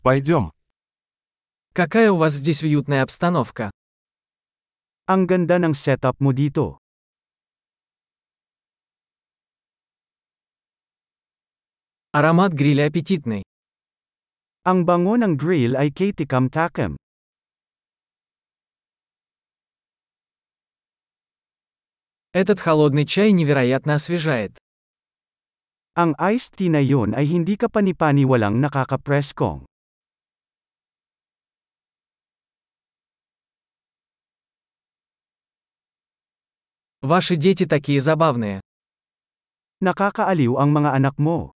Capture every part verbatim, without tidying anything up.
Пойдем. Какая у вас здесь уютная обстановка. Ang ganda ng setup mo dito. Аромат гриля аппетитный. Ang bango ng grill ay kaitikam-takim. Этот холодный чай невероятно освежает. Ang iced tea na yun ay hindi ka panipaniwalang nakakapreskong. Ваши дети такие забавные. Nakakaaliw ang mga anak mo.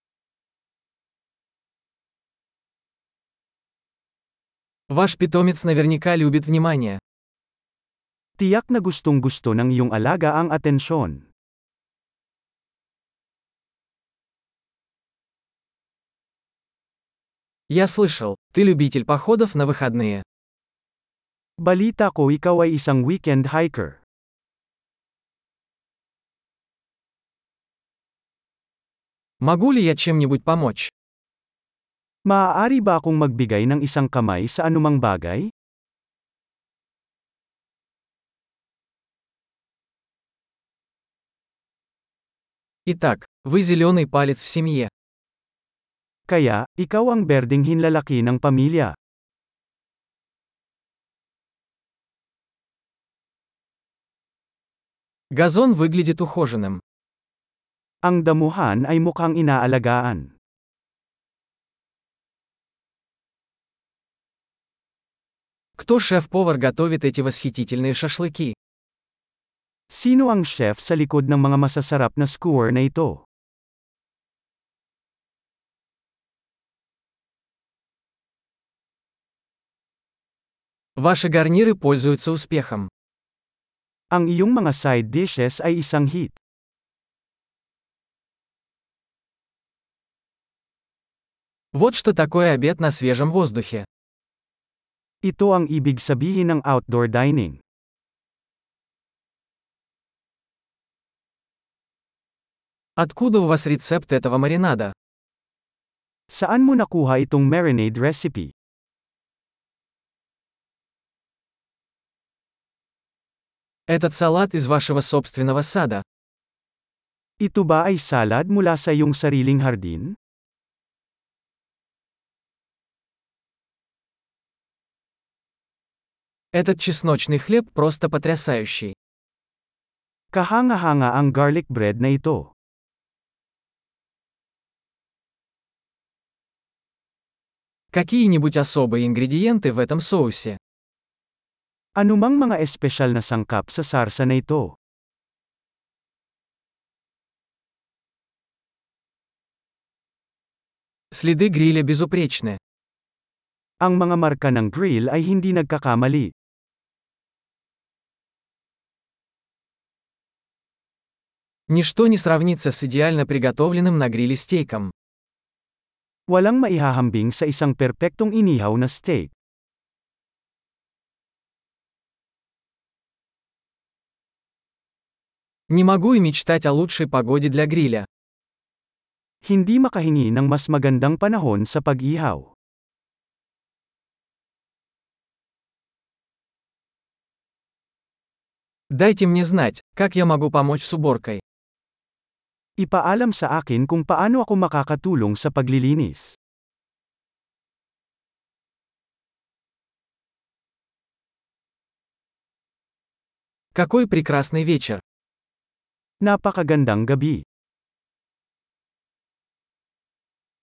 Ваш питомец наверняка любит внимание. Tiyak na gustong-gusto ng iyong alaga ang atensyon. Я слышал, ты любитель походов на выходные. Balita ko ikaw ay isang weekend hiker. Могу ли я чем-нибудь помочь? Maaari ba akong magbigay ng isang kamay sa anumang bagay? Итак, вы зеленый палец в семье. Kaya, ikaw ang berdeng hinlalaki ng pamilya. Газон выглядит ухоженным. Ang damuhan ay mukhang inaalagaan. Кто шеф-повар готовит эти восхитительные шашлыки? Sino ang chef sa likod ng mga masasarap na skewer na ito? Ваши гарниры пользуются успехом. Ang iyong mga side dishes ay isang hit. Вот что такое обед на свежем воздухе. Ito ang ibig sabihin ng outdoor dining. Откуда у вас рецепт этого маринада? Saan mo nakuha itong marinade recipe? Этот салат из вашего собственного сада. Ito ba ay salad mula sa iyong sariling hardin? Этот чесночный хлеб просто потрясающий. Kahanga-hanga ang garlic bread na ito. Какие-нибудь особые ингредиенты в этом соусе? Anumang mga espesyal na sangkap sa sarsa na ito? Следы гриля безупречны. Ang mga marka ng grill ay hindi nagkakamali. Ничто не сравнится с идеально приготовленным на гриле стейком. Walang maihahambing sa isang perpektong inihaw na steak. Не могу и мечтать о лучшей погоде для гриля. Hindi makahingi ng mas magandang panahon sa pag-ihaw. Дайте мне знать, как я могу помочь с уборкой. Ipaalam sa akin kung paano ako makakatulong sa paglilinis. Какой прекрасный вечер. Napakagandang gabi.